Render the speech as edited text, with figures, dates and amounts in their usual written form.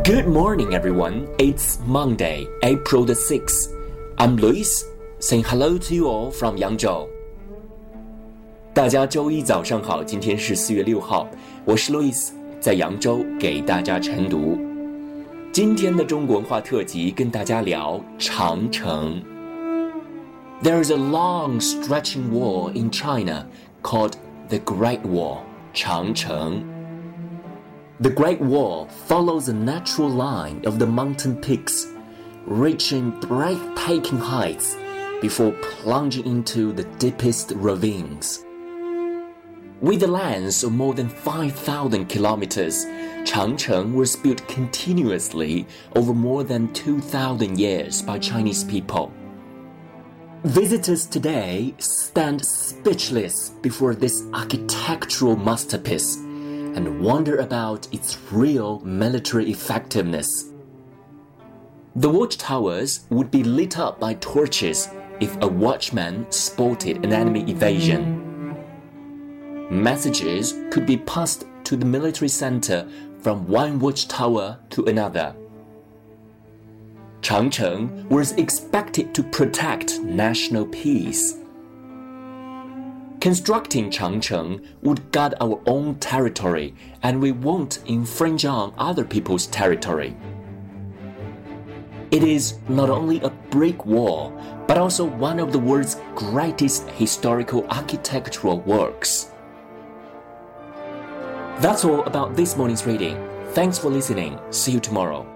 Good morning, everyone. It's Monday, April the 6th. I'm Luis, saying hello to you all from Yangzhou. 大家周一早上好，今天是4月6号，我是 Luis， 在扬州给大家晨读。今天的中国文化特辑跟大家聊长城。There is a long stretching wall in China called the Great Wall, 长城。The Great Wall follows the natural line of the mountain peaks, reaching breathtaking heights before plunging into the deepest ravines. With a length of more than 5,000 kilometers, Changcheng was built continuously over more than 2,000 years by Chinese people. Visitors today stand speechless before this architectural masterpiece and wonder about its real military effectiveness. The watchtowers would be lit up by torches if a watchman spotted an enemy invasion. Messages could be passed to the military center from one watchtower to another. Changcheng was expected to protect national peace. Constructing Changcheng would guard our own territory, and we won't infringe on other people's territory. It is not only a brick wall, but also one of the world's greatest historical architectural works. That's all about this morning's reading. Thanks for listening. See you tomorrow.